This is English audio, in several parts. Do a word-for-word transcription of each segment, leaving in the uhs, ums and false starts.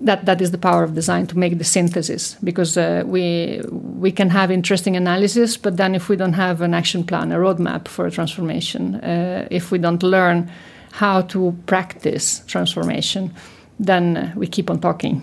that that is the power of design, to make the synthesis, because uh, we we can have interesting analysis, but then if we don't have an action plan, a roadmap for a transformation, uh, if we don't learn how to practice transformation, then uh, we keep on talking.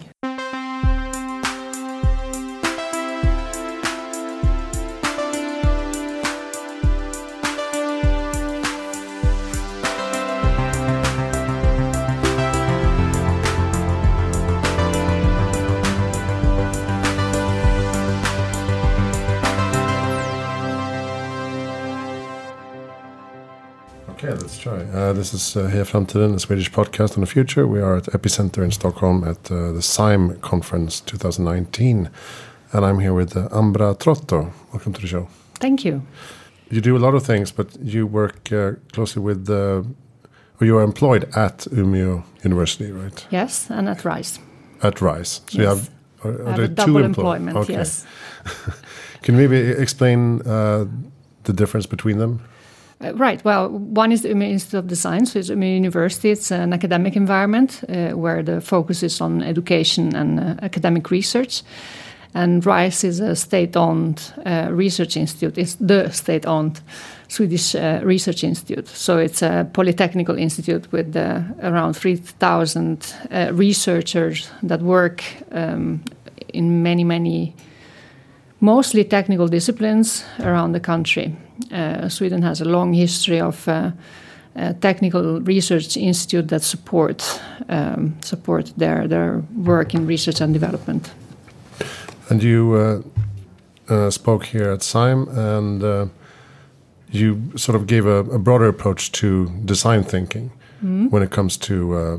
Okay, let's try. Uh, this is uh, Heja Framtiden, a Swedish podcast on the future. We are at Epicenter in Stockholm at uh, the S I M conference twenty nineteen. And I'm here with uh, Ambra Trotto. Welcome to the show. Thank you. You do a lot of things, but you work uh, closely with, uh, or you are employed at Umeå University, right? Yes, and at RISE. At RISE. So yes. you have, are, are I have there a two double employ- employment, okay. yes. Can you maybe explain uh, the difference between them? Uh, right. Well, one is the Umeå Institute of Design, so it's Umeå University. It's an academic environment uh, where the focus is on education and uh, academic research. And RISE is a state-owned uh, research institute. It's the state-owned Swedish uh, research institute. So it's a polytechnical institute with uh, around three thousand uh, researchers that work um, in many, many mostly technical disciplines around the country. Uh, Sweden has a long history of uh, uh, technical research institute that support um, support their their work in research and development. And you uh, uh, spoke here at S I M, and uh, you sort of gave a, a broader approach to design thinking mm-hmm. when it comes to uh,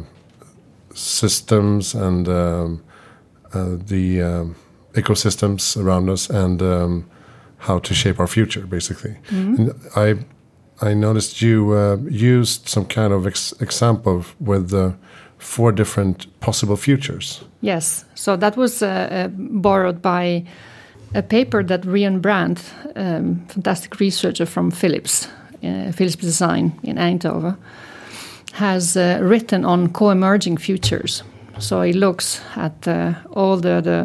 systems and um, uh, the um, ecosystems around us, and um, how to shape our future, basically. Mm-hmm. And I I noticed you uh, used some kind of ex- example with uh, four different possible futures. Yes, so that was uh, uh, borrowed by a paper that Rian Brandt, um, fantastic researcher from Philips, uh, Philips Design in Eindhoven, has uh, written on co-emerging futures. So he looks at uh, all the, the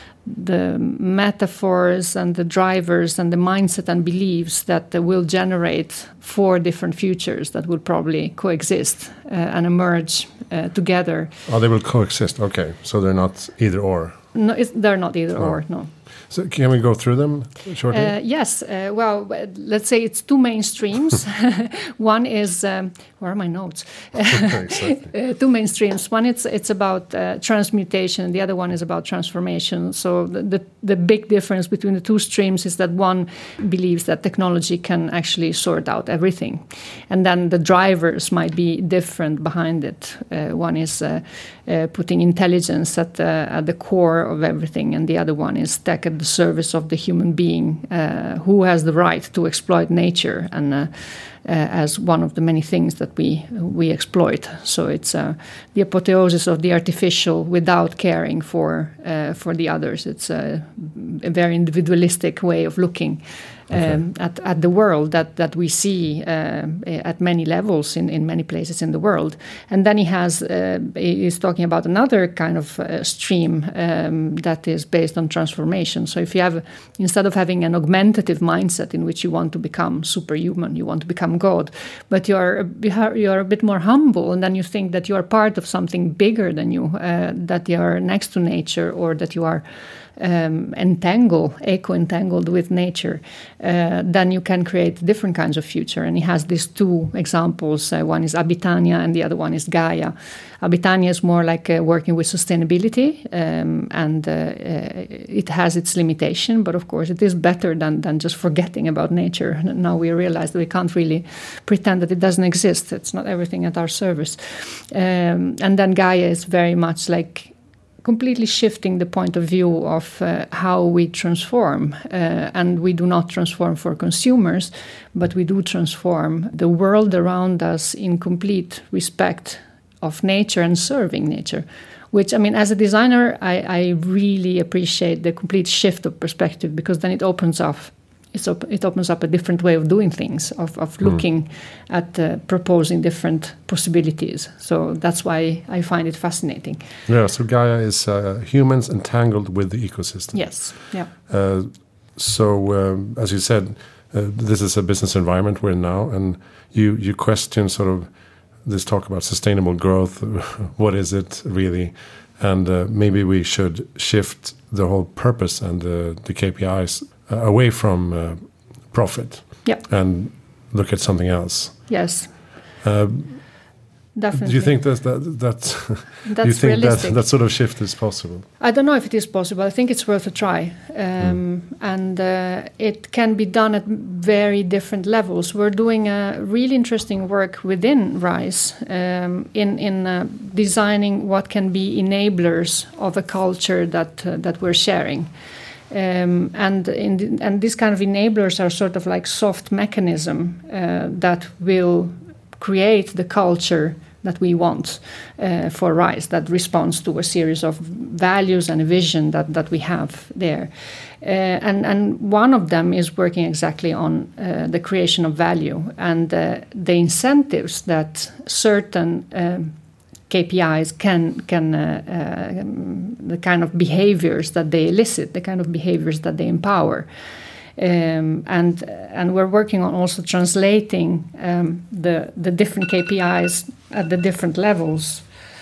the metaphors and the drivers and the mindset and beliefs that uh, will generate four different futures that will probably coexist uh, and emerge uh, together. Oh, they will coexist. Okay, so they're not either or. No, it's, they're not either oh. or. No. So can we go through them shortly? Uh, yes. Uh, well, let's say it's two main streams. One is um, where are my notes? Exactly. uh, two main streams. One it's it's about uh, transmutation. The other one is about transformation. So the, the the big difference between the two streams is that one believes that technology can actually sort out everything, and then the drivers might be different behind it. Uh, one is uh, uh, putting intelligence at the at the core of everything, and the other one is tech at the service of the human being uh, who has the right to exploit nature and uh, uh, as one of the many things that we we exploit. So it's uh, the apotheosis of the artificial without caring for uh, for the others. It's a, a very individualistic way of looking um, okay. at, at the world that, that we see uh, at many levels in, in many places in the world. And then he has uh, he's talking about another kind of uh, stream um, that is based on transformation. So if you have, instead of having an augmentative mindset in which you want to become superhuman, you want to become God, but you're you're a bit more humble, and then you think that you are part of something bigger than you, uh, that you are next to nature, or that you are Um, entangle, eco-entangled with nature, uh, then you can create different kinds of future. And he has these two examples. Uh, one is Abitania and the other one is Gaia. Abitania is more like uh, working with sustainability, um, and uh, uh, it has its limitation, but of course it is better than, than just forgetting about nature. Now we realize that we can't really pretend that it doesn't exist. It's not everything at our service. Um, and then Gaia is very much like completely shifting the point of view of uh, how we transform. Uh, and we do not transform for consumers, but we do transform the world around us in complete respect of nature and serving nature. Which, I mean, as a designer, I, I really appreciate the complete shift of perspective, because then it opens up it's op- it opens up a different way of doing things, of, of looking mm. at uh, proposing different possibilities. So that's why I find it fascinating. Yeah, so Gaia is uh, humans entangled with the ecosystem. Yes, yeah. Uh, so, um, as you said, uh, this is a business environment we're in now, and you, you question sort of this talk about sustainable growth. What is it really? And uh, maybe we should shift the whole purpose and the, the K P Is uh, away from uh, profit yep. and look at something else. Yes, uh, definitely. Do you think that that that's, that's do you think realistic? that that sort of shift is possible? I don't know if it is possible. I think it's worth a try, um, mm. and uh, it can be done at very different levels. We're doing a really interesting work within RISE um, in in uh, designing what can be enablers of a culture that uh, that we're sharing. Um, and in the, and these kind of enablers are sort of like soft mechanism uh, that will create the culture that we want uh, for RISE, that responds to a series of values and a vision that, that we have there. Uh, and, and one of them is working exactly on uh, the creation of value and uh, the incentives that certain um, K P Is can can uh, uh, the kind of behaviors that they elicit, the kind of behaviors that they empower, um, and and we're working on also translating um, the the different K P Is at the different levels,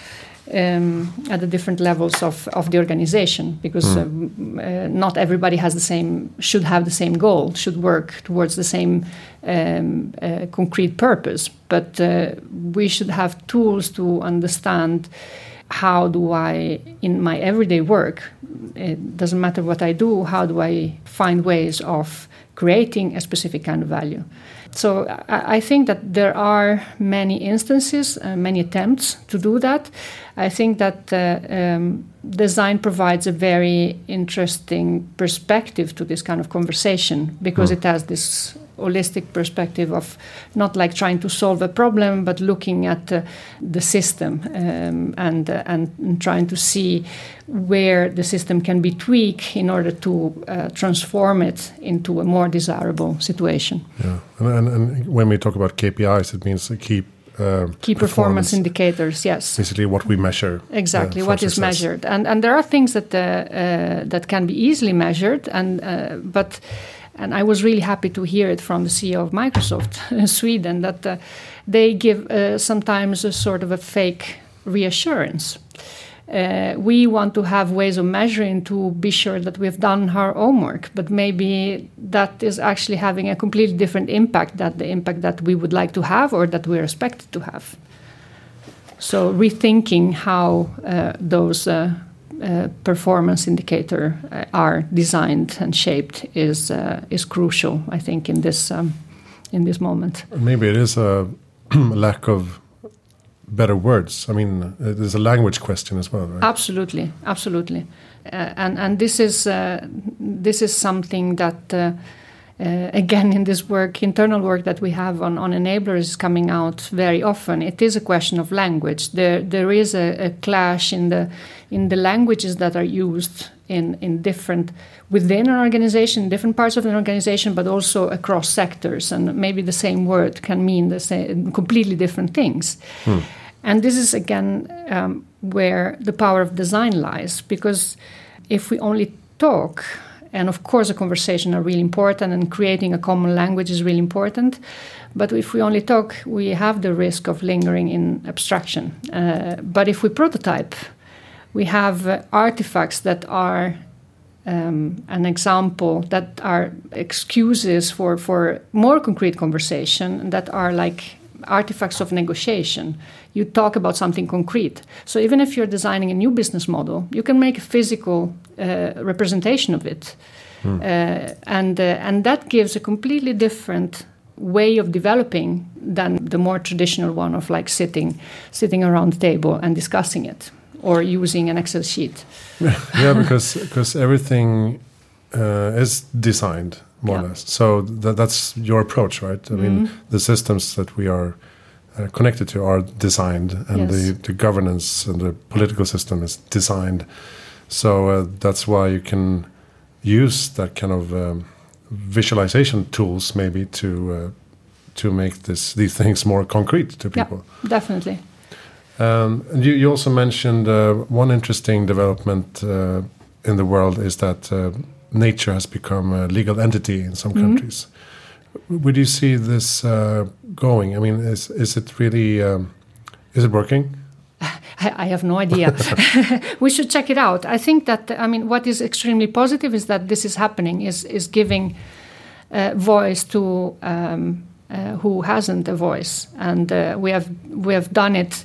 um, at the different levels of, of the organization, because mm. um, uh, not everybody has the same should have the same goal, should work towards the same um, uh, concrete purpose. But uh, we should have tools to understand how do I, in my everyday work, it doesn't matter what I do, how do I find ways of creating a specific kind of value. So I, I think that there are many instances, uh, many attempts to do that. I think that uh, um, design provides a very interesting perspective to this kind of conversation, because mm. it has this holistic perspective of not like trying to solve a problem, but looking at uh, the system um, and, uh, and and trying to see where the system can be tweaked in order to uh, transform it into a more desirable situation. Yeah, and, and, and when we talk about K P Is, it means to keep uh, key performance, performance indicators. Yes, basically what we measure. Exactly, uh, what success. is measured, and and there are things that uh, uh, that can be easily measured, and uh, but. And I was really happy to hear it from the C E O of Microsoft in Sweden, that uh, they give uh, sometimes a sort of a fake reassurance. Uh, we want to have ways of measuring to be sure that we've done our homework, but maybe that is actually having a completely different impact than the impact that we would like to have or that we're expected to have. So rethinking how uh, those uh, Uh, performance indicator uh, are designed and shaped is uh, is crucial, I think, in this um, in this moment. Maybe it is a lack of better words. I mean, it is a language question as well, right? Absolutely, absolutely, uh, and and this is uh, this is something that. Uh, Uh, again, in this work, internal work that we have on, on enablers is coming out very often. It is a question of language. There, there is a, a clash in the in the languages that are used in, in different within an organization, different parts of an organization, but also across sectors. And maybe the same word can mean the same, completely different things. Hmm. And this is again um, where the power of design lies, because if we only talk. And of course, a conversation are really important, and creating a common language is really important. But if we only talk, we have the risk of lingering in abstraction. Uh, but if we prototype, we have uh, artifacts that are um, an example, that are excuses for, for more concrete conversation, that are like artifacts of negotiation. You talk about something concrete. So even if you're designing a new business model, you can make a physical uh, representation of it. Hmm. Uh, and, uh, and that gives a completely different way of developing than the more traditional one of like sitting, sitting around the table and discussing it, or using an Excel sheet. Yeah, because, because everything uh, is designed, more yeah. or less. So th- that's your approach, right? I mm-hmm. mean, the systems that we are uh, connected to are designed, and yes. the, the governance and the political system is designed. So uh, that's why you can use that kind of um, visualization tools maybe to uh, to make this these things more concrete to people. Yeah, definitely. Um, and you, you also mentioned uh, one interesting development uh, in the world is that uh, nature has become a legal entity in some Mm-hmm. countries. Would you see this uh, going? I mean, is is it really um, is it working? I, I have no idea. We should check it out. I think that I mean, what is extremely positive is that this is happening. Is is giving uh, voice to um, uh, who hasn't a voice, and uh, we have we have done it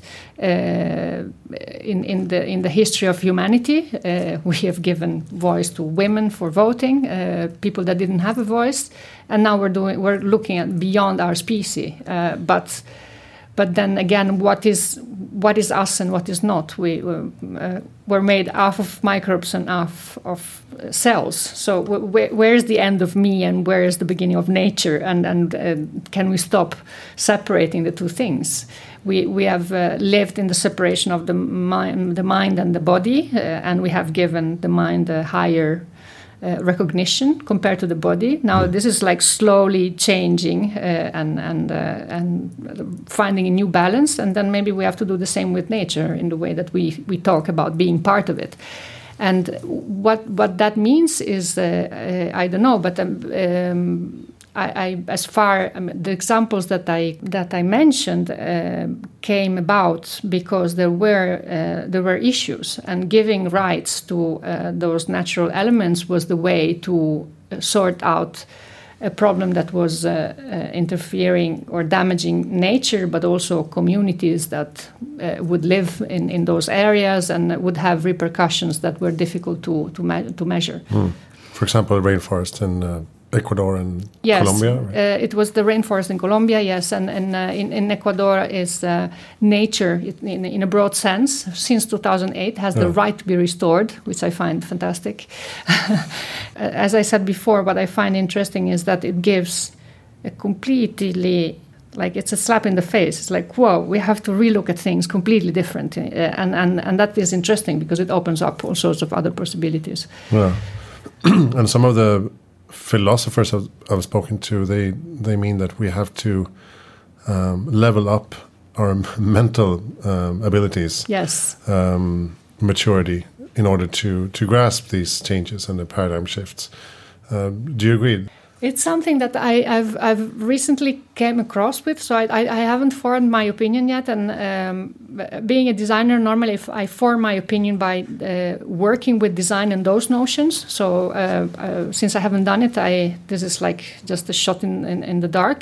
uh, in in the in the history of humanity. Uh, we have given voice to women for voting, uh, people that didn't have a voice, and now we're doing we're looking at beyond our species, uh, but. But then again, what is what is us and what is not? We uh, we're made half of microbes and half of cells. So wh- where is the end of me and where is the beginning of nature? And and uh, can we stop separating the two things? We we have uh, lived in the separation of the mind, the mind and the body, uh, and we have given the mind a higher Uh, recognition compared to the body. Now mm. this is like slowly changing uh, and and uh, and finding a new balance, and then maybe we have to do the same with nature in the way that we we talk about being part of it. And what what that means is uh, uh, I don't know, but um, um, I, I as far I mean, the examples that I that I mentioned uh, came about because there were uh, there were issues, and giving rights to uh, those natural elements was the way to sort out a problem that was uh, uh, interfering or damaging nature, but also communities that uh, would live in, in those areas and would have repercussions that were difficult to to, me- to measure. Mm. For example, rainforest in uh, Ecuador and yes, Colombia? Right? Uh, it was the rainforest in Colombia, yes, and, and uh, in, in Ecuador is uh, nature in, in a broad sense since two thousand eight has yeah. the right to be restored, which I find fantastic. As I said before, what I find interesting is that it gives a completely, like it's a slap in the face. It's like, whoa, we have to relook at things completely different. Uh, and, and, and that is interesting because it opens up all sorts of other possibilities. Yeah. And some of the philosophers I've, I've spoken to, they they mean that we have to um, level up our mental um, abilities, yes, um, maturity, in order to to grasp these changes and the paradigm shifts. Uh, do you agree? It's something that I, I've I've recently came across with, so I, I, I haven't formed my opinion yet. And um, being a designer, normally if I form my opinion by uh, working with design and those notions. So uh, uh, since I haven't done it, I this is like just a shot in, in, in the dark.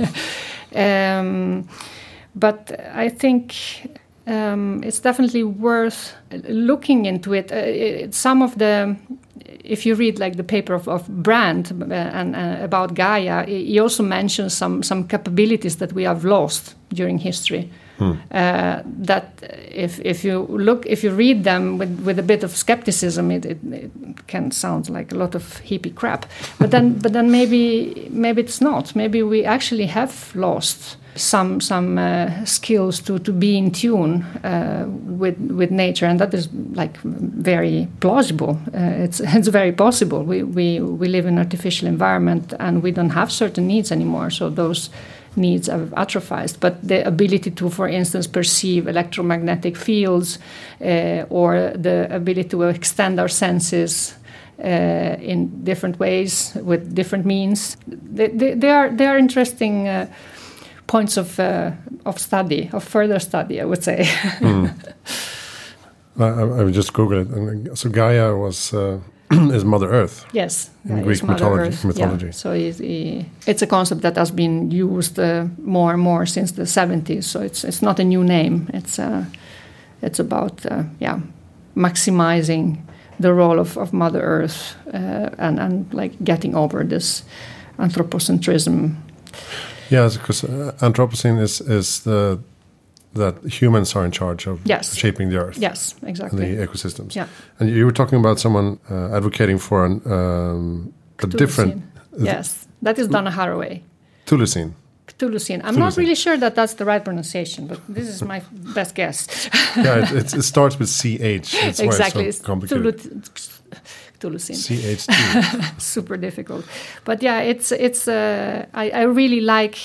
um, but I think um, it's definitely worth looking into it. Uh, it. Some of the If you read like the paper of, of Brand uh, and uh, about Gaia, he also mentions some some capabilities that we have lost during history. Hmm. Uh, that if if you look if you read them with, with a bit of skepticism, it, it, it can sound like a lot of hippie crap. But then but then maybe maybe it's not. Maybe we actually have lost some some uh, skills to, to be in tune uh, with with nature, and that is like very plausible. Uh, it's it's very possible. We we we live in an artificial environment, and we don't have certain needs anymore. So those needs have atrophied. But the ability to, for instance, perceive electromagnetic fields, uh, or the ability to extend our senses uh, in different ways with different means, they, they, they are they are interesting. Uh, points of uh, of study, of further study, I would say. mm. I, I would just Google it. So Gaia was uh, is Mother Earth. Yes, in Gaia Greek mythology. mythology. Yeah. So he, he, it's a concept that has been used uh, more and more since the seventies. So it's it's not a new name. It's uh, it's about uh, yeah maximizing the role of, of Mother Earth uh, and and like getting over this anthropocentrism. Yes, because uh, Anthropocene is is the that humans are in charge of yes. shaping the earth. Yes, exactly. And the ecosystems. Yeah. And you were talking about someone uh, advocating for an, um, a different. Uh, yes, that is Donna Haraway. Cthulhucene. Cthulhucene. I'm Cthulhucene. not really sure that that's the right pronunciation, but this is my best guess. Yeah, it, it, it starts with C H. That's exactly. why it's so complicated. Cthulhu C H two. Super difficult. But yeah, it's it's. Uh, I, I really like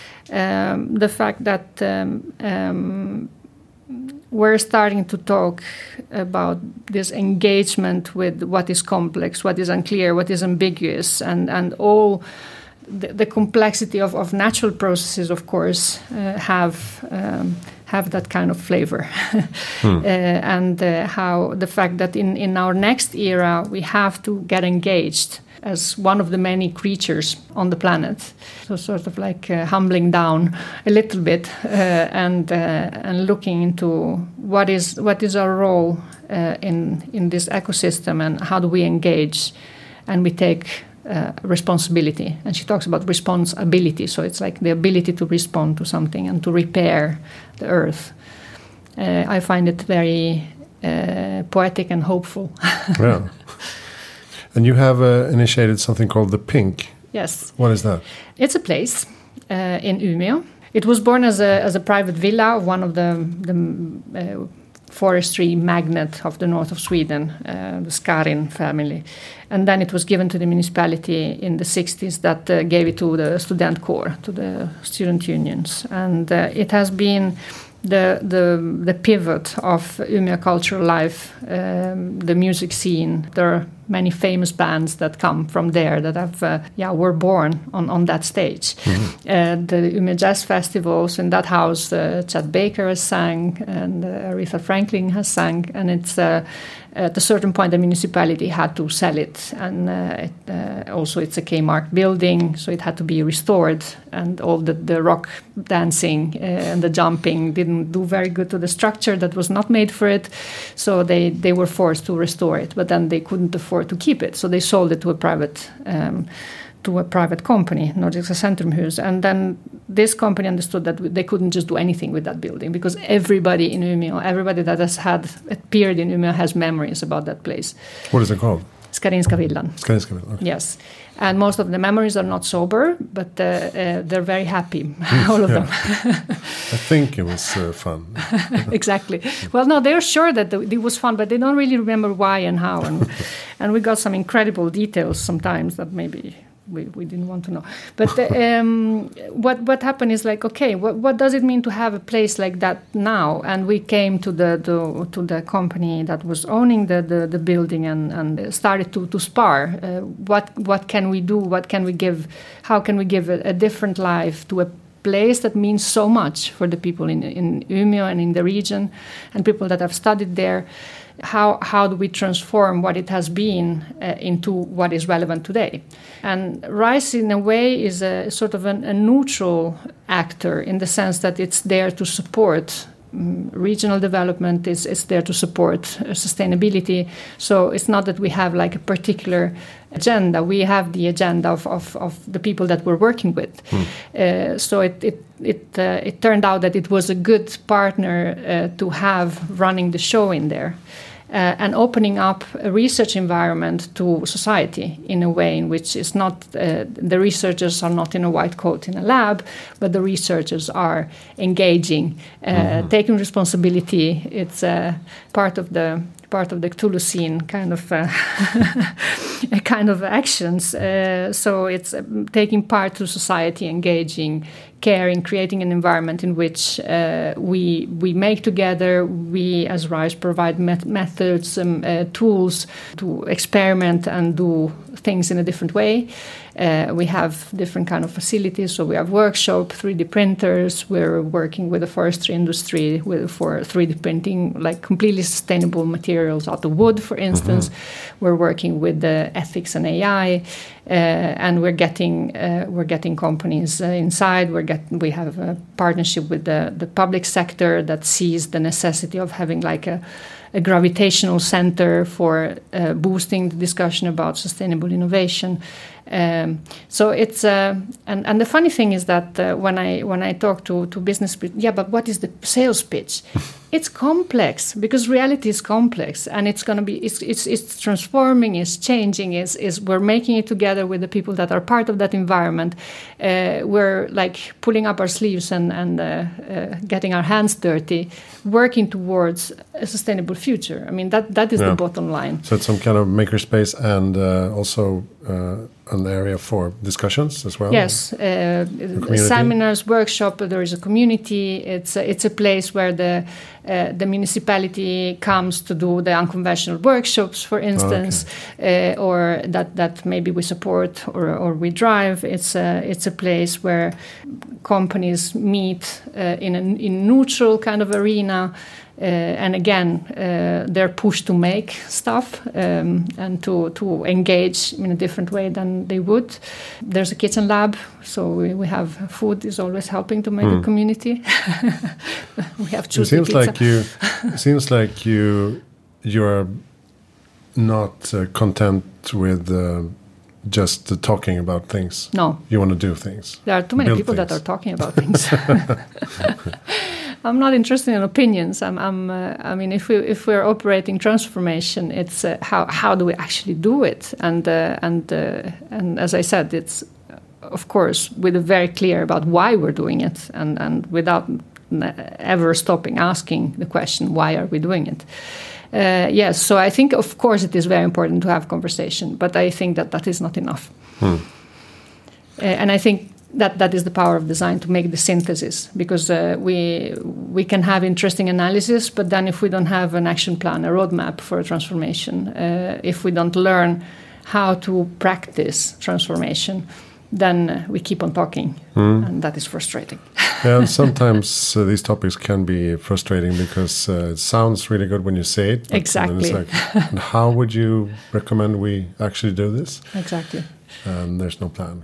um, the fact that um, um, we're starting to talk about this engagement with what is complex, what is unclear, what is ambiguous, and and all the, the complexity of, of natural processes, of course, uh, have. Um, have that kind of flavor. hmm. uh, and uh, how the fact that in, in our next era we have to get engaged as one of the many creatures on the planet. So sort of like uh, humbling down a little bit uh, and uh, and looking into what is what is our role uh, in in this ecosystem and how do we engage and we take Uh, responsibility. And she talks about responsibility, so it's like the ability to respond to something and to repair the earth. Uh, I find it very uh, poetic and hopeful. Yeah. And you have uh, initiated something called the Pink. Yes. What is that? It's a place uh, in Umeå. It was born as a as a private villa of one of the the uh, forestry magnate of the north of Sweden, uh, the Skarin family. And then it was given to the municipality in the sixties that uh, gave it to the student corps, to the student unions. And uh, it has been the, the, the pivot of Umeå cultural life, um, the music scene. There are many famous bands that come from there that have, uh, yeah, were born on, on that stage. Mm-hmm. Uh, the Umeå Jazz Festivals, in that house, uh, Chet Baker has sang and uh, Aretha Franklin has sang, and it's uh, at a certain point the municipality had to sell it, and uh, it, uh, also it's a Kmart building, so it had to be restored, and all the, the rock dancing uh, and the jumping didn't do very good to the structure that was not made for it, so they, they were forced to restore it, but then they couldn't afford to keep it, so they sold it to a private um, to a private company, Nordiska Centrumhus, and then this company understood that they couldn't just do anything with that building because everybody in Umeå, everybody that has had appeared in Umeå has memories about that place. What is it called? Skarinska villan. Skarinska villan. Okay. Yes, and most of the memories are not sober, but uh, uh, they're very happy, all of them. I think it was uh, fun. Exactly. Well, no, they're sure that the, it was fun, but they don't really remember why and how, and and we got some incredible details sometimes that maybe. We, we didn't want to know. But uh, um, what what happened is like, okay, what what does it mean to have a place like that now? And we came to the, the to the company that was owning the, the, the building and, and started to, to spar. Uh, what what can we do? What can we give? How can we give a, a different life to a place that means so much for the people in, in Umeå and in the region and people that have studied there? How how do we transform what it has been uh, into what is relevant today? And RISE, in a way, is a sort of an, a neutral actor in the sense that it's there to support um, regional development. It's, it's there to support uh, sustainability. So it's not that we have like a particular agenda. We have the agenda of, of, of the people that we're working with. Hmm. Uh, so it it it, uh, it turned out that it was a good partner uh, to have running the show in there. Uh, and opening up a research environment to society in a way in which it's not uh, the researchers are not in a white coat in a lab, but the researchers are engaging, uh, mm-hmm. taking responsibility. It's uh, part of the part of the Cthulhu scene kind of uh, kind of actions. Uh, so it's uh, taking part to society, engaging, caring, creating an environment in which uh, we we make together. We as RISE provide met- methods and uh, tools to experiment and do things in a different way. Uh, we have different kind of facilities, so we have workshop, three D printers. We're working with the forestry industry with, for three D printing, like completely sustainable materials out of wood, for instance. Mm-hmm. We're working with the ethics and A I, uh, and we're getting uh, we're getting companies uh, inside. We're get we have a partnership with the the public sector that sees the necessity of having like a. a gravitational center for uh, boosting the discussion about sustainable innovation. Um, so it's uh, and and the funny thing is that uh, when I when I talk to to business people, yeah, but what is the sales pitch? It's complex because reality is complex, and it's going to be it's, it's it's transforming, it's changing, is is we're making it together with the people that are part of that environment. Uh, we're like pulling up our sleeves and and uh, uh, getting our hands dirty, working towards a sustainable future. I mean that that is yeah. the bottom line. So it's some kind of makerspace and uh, also uh, an area for discussions as well. Yes, uh, seminars, workshop. There is a community. It's a, it's a place where the Uh, the municipality comes to do the unconventional workshops, for instance, okay. uh, or that, that maybe we support or, or we drive. It's a, it's a place where companies meet uh, in a in neutral kind of arena. Uh, and again, uh, they're pushed to make stuff um, and to, to engage in a different way than they would. There's a kitchen lab, so we, we have food is always helping to make mm. a community. We have it seems pizza. like you. It seems like you you're not uh, content with uh, just uh, talking about things. No, you want to do things. There are too many people things. that are talking about things. I'm not interested in opinions. I'm. I'm uh, I mean, if we if we're operating transformation, it's uh, how how do we actually do it? And uh, and uh, and as I said, it's uh, of course with a very clear about why we're doing it, and and without ever stopping asking the question, why are we doing it? Uh, yes. So I think of course it is very important to have conversation, but I think that that is not enough. Hmm. Uh, and I think. That that is the power of design, to make the synthesis, because uh, we we can have interesting analysis, but then if we don't have an action plan, a roadmap for a transformation, uh, if we don't learn how to practice transformation, then uh, we keep on talking, mm. and that is frustrating. Yeah, and sometimes uh, these topics can be frustrating because uh, it sounds really good when you say it. Exactly. Like, and how would you recommend we actually do this? Exactly. Um, there's no plan.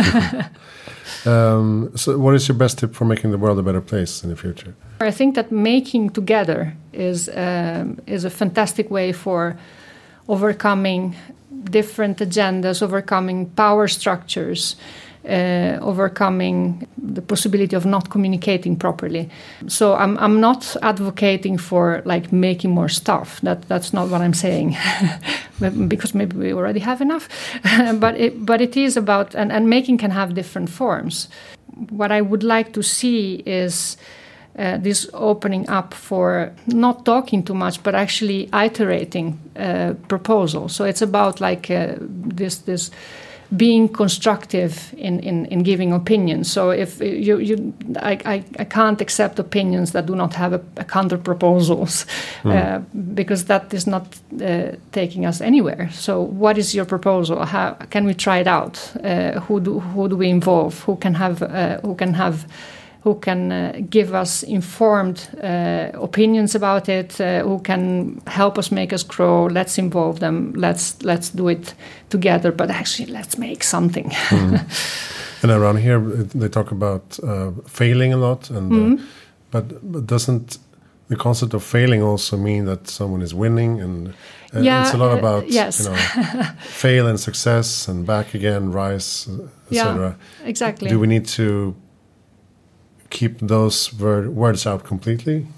um, so what is your best tip for making the world a better place in the future? I think that making together is um, is a fantastic way for overcoming different agendas, overcoming power structures, uh, overcoming the possibility of not communicating properly. So I'm I'm not advocating for like making more stuff. That that's not what I'm saying. Because maybe we already have enough, but it, but it is about and, and making can have different forms. What I would like to see is uh, this opening up for not talking too much, but actually iterating uh, proposals. So it's about like uh, this this. being constructive in, in, in giving opinions. So if you, you I, I, I can't accept opinions that do not have a, a counter proposals mm. uh, because that is not uh, taking us anywhere. So what is your proposal? How can we try it out? Uh, who do who do we involve? Who can have uh, who can have who can uh, give us informed uh, opinions about it, uh, who can help us, make us grow. Let's involve them. Let's let's do it together, but actually let's make something. Mm. And around here, they talk about uh, failing a lot, and mm. uh, but, but doesn't the concept of failing also mean that someone is winning? And uh, yeah, it's a lot about uh, yes. you know, fail and success and back again, rise, et cetera. Yeah, exactly. Do we need to keep those word, words out completely?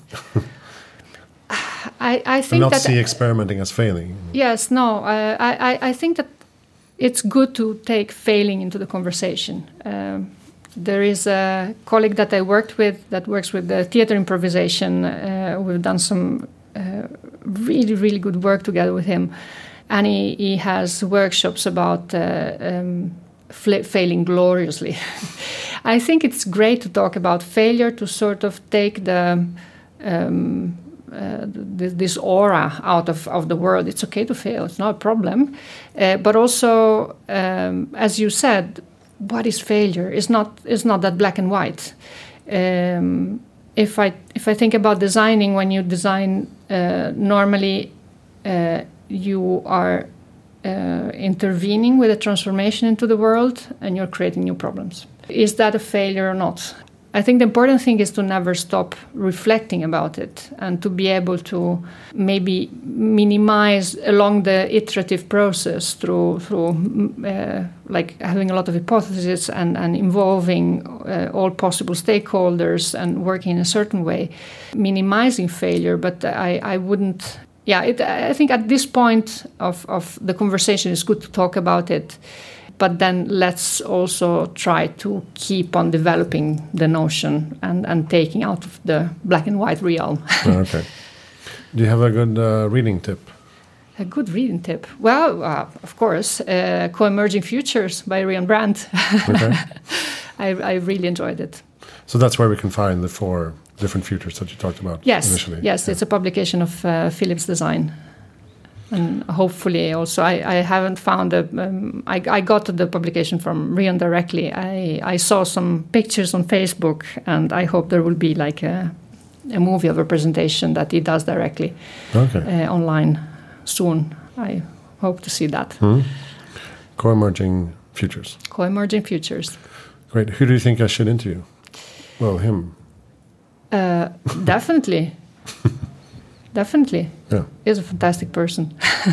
I, I think and not that see experimenting as failing. Yes, no. Uh, I, I think that it's good to take failing into the conversation. Um, there is a colleague that I worked with that works with the theater improvisation. Uh, we've done some uh, really, really good work together with him. And he, he has workshops about uh, um, failing gloriously. I think it's great to talk about failure, to sort of take the um, uh, th- this aura out of, of the world. It's okay to fail; it's not a problem. Uh, but also, um, as you said, what is failure? It's not it's not that black and white. Um, if I if I think about designing, when you design, uh, normally uh, you are uh, intervening with a transformation into the world, and you're creating new problems. Is that a failure or not? I think the important thing is to never stop reflecting about it and to be able to maybe minimize along the iterative process through through uh, like having a lot of hypotheses and, and involving uh, all possible stakeholders and working in a certain way, minimizing failure. But I, I wouldn't, yeah, it, I think at this point of, of the conversation it's good to talk about it. But then let's also try to keep on developing the notion and, and taking out of the black and white realm. Okay. Do you have a good uh, reading tip? A good reading tip? Well, uh, of course, uh, Co-Emerging Futures by Rian Brandt. Okay. I, I really enjoyed it. So that's where we can find the four different futures that you talked about yes, initially? Yes, yeah. It's a publication of uh, Philips Design. And hopefully also, I, I haven't found a, um, I, I got the publication from Rian directly. I, I saw some pictures on Facebook, and I hope there will be like a, a movie of a presentation that he does directly okay. uh, online soon. I hope to see that. Mm-hmm. Co-Emerging Futures. Co-Emerging Futures. Great. Who do you think I should interview? Well, him. Uh, definitely. Definitely. Yeah. He's a fantastic person.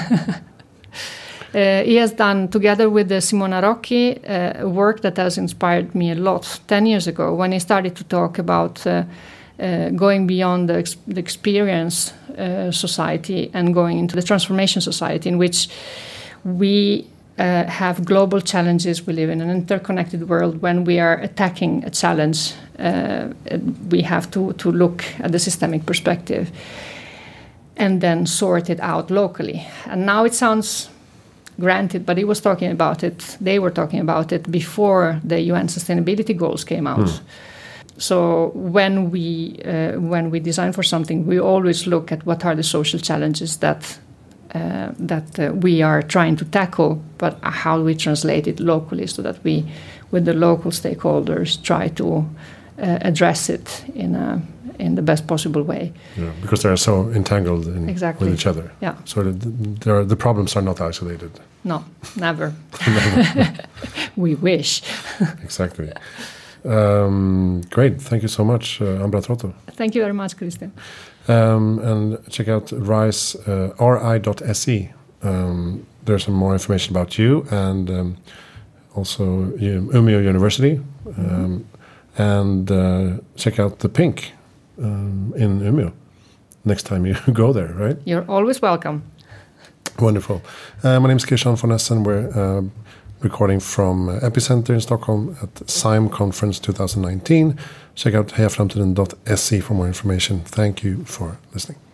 uh, he has done, together with uh, Simona Rocchi, uh, work that has inspired me a lot ten years ago when he started to talk about uh, uh, going beyond the, ex- the experience uh, society and going into the transformation society, in which we uh, have global challenges. We live in an interconnected world. When we are attacking a challenge, uh, we have to, to look at the systemic perspective and then sort it out locally. And now it sounds granted, but he was talking about it, they were talking about it before the U N sustainability goals came out. Mm. So when we uh, when we design for something, we always look at what are the social challenges that uh, that uh, we are trying to tackle, but how do we translate it locally so that we, with the local stakeholders, try to uh, address it in a in the best possible way. Yeah, because they are so entangled in, exactly. with each other. Yeah. So the, are, the problems are not isolated. No, never. never. We wish. Exactly. Um, great. Thank you so much, uh, Ambra Trotto. Thank you very much, Christian. Um, and check out RISE, uh, R I dot S E. Um, there's some more information about you and um, also um, Umeå University. Um, mm-hmm. And uh, check out the Pink um, in Umeå next time you go there, right? You're always welcome. Wonderful. Uh, my name is Christian von Essen. We're uh, recording from uh, Epicenter in Stockholm at S I M Conference twenty nineteen. Check out heja framtiden dot se for more information. Thank you for listening.